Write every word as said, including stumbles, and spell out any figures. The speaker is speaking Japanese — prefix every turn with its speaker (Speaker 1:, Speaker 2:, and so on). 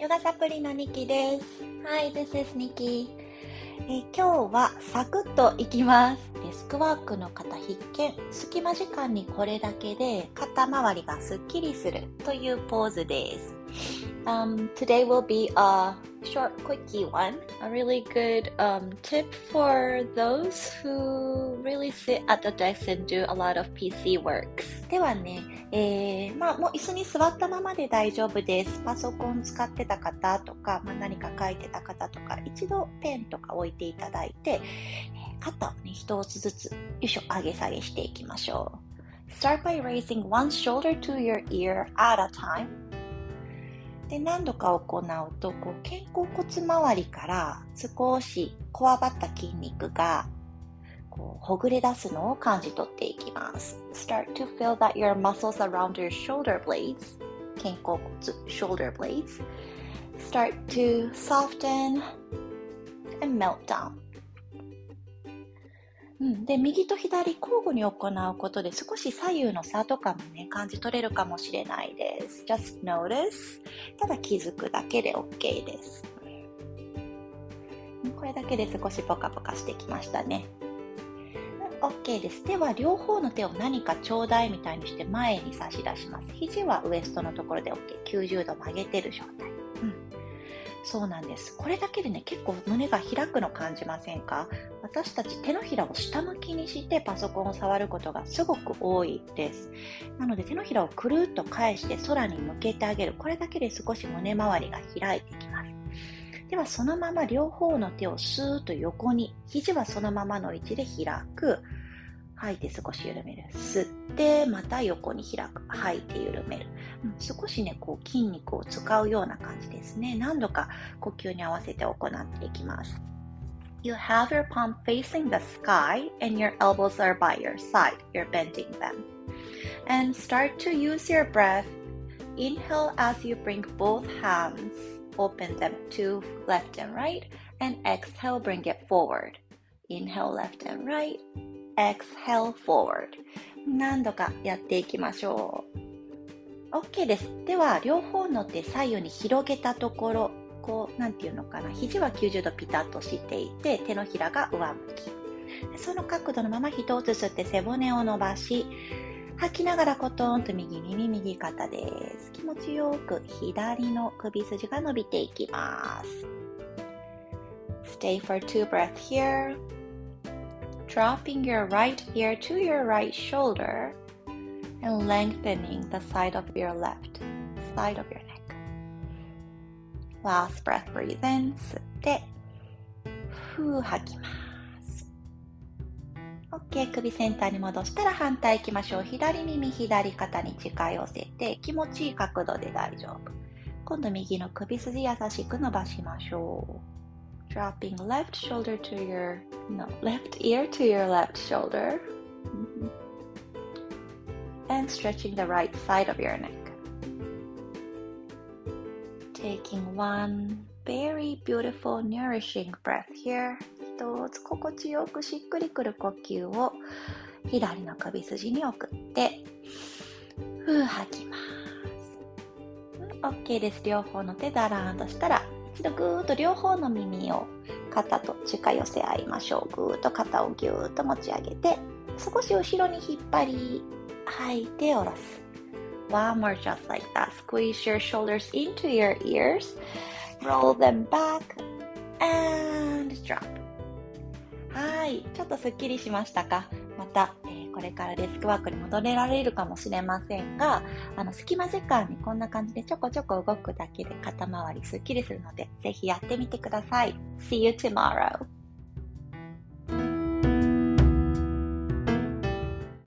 Speaker 1: ヨガサプリのニキです。Hi, this is Nikki. え今日はサクッといきます。デスクワークの方必見。隙間時間にこれだけで肩周りがすっきりするというポーズです。Um, today will be a short, quickie one. A really good um, tip for those who really sit at the desk and do a lot of ピーシー works. ではね、えー、まあもう椅子に座ったままで大丈夫です。パソコン使ってた方とか、まあ、何か書いてた方とか、一度ペンとか置いていただいて、肩をね、一つずつ、よいしょ、上げ下げしていきましょう。Start by raising one shoulder to your ear at a time.で何度か行うとこう肩甲骨周りから少しこわばった筋肉がこうほぐれ出すのを感じ取っていきます。Start to feel that your muscles around your shoulder blades 肩甲骨 shoulder blades start to soften and melt down、うん、で右と左交互に行うことで少し左右の差とかもね感じ取れるかもしれないです。 Just notice ただ気づくだけで OK です。これだけで少しポカポカしてきましたね。 OK です。では両方の手を何かちょうだいみたいにして前に差し出します。肘はウエストのところで OK。 きゅうじゅうど曲げてる状態、うん、そうなんです。これだけでね結構胸が開くの感じませんか？私たち手のひらを下向きにしてパソコンを触ることがすごく多いです。なので手のひらをくるっと返して空に向けてあげる。これだけで少し胸周りが開いてきます。ではそのまま両方の手をスーッと横に、肘はそのままの位置で開く。吐いて少し緩める。吸ってまた横に開く。吐いて緩める、うん、少しねこう筋肉を使うような感じですね。何度か呼吸に合わせて行っていきます。You have your palm facing the sky and your elbows are by your side. You're bending them. And start to use your breath. Inhale as you bring both hands. Open them to left and right. And exhale, bring it forward. Inhale left and right.Exhale forward 何度かやっていきましょう。 OK です。では両方の手左右に広げたところ、こうなんていうのかな、肘はきゅうじゅうどピタッとしていて手のひらが上向き、その角度のまま一つ吸って背骨を伸ばし、吐きながらコトンと右耳右肩です。気持ちよく左の首筋が伸びていきます。 Stay for two breaths here.Dropping your right ear to your right shoulder and lengthening the side of your left side of your neck. Last breath, breathe in. 吸って、ふー吐きます。OK、首センターに戻したら反対行きましょう。左耳、左肩に近寄せて気持ちいい角度で大丈夫。今度右の首筋優しく伸ばしましょう。Dropping left shoulder to your, no, left ear to your left shoulder. Mm-hmm. And stretching the right side of your neck. Taking one very beautiful, nourishing breath here. 一つ心地よくしっくりくる呼吸を左の首筋に送って、ふー吐きます。OK です。両方の手だらーんとしたら、一度ぐーっと両方の耳を肩と近寄せ合いましょう。ぐーっと肩をぎゅーっと持ち上げて、少し後ろに引っ張り、吐いて下ろす。One more just like that. Squeeze your shoulders into your ears. Roll them back and drop. はい、ちょっとすっきりしましたか？また、えー、これからデスクワークに戻れられるかもしれませんが、あの隙間時間にこんな感じでちょこちょこ動くだけで肩周りすっきりするので、ぜひやってみてください。See you tomorrow!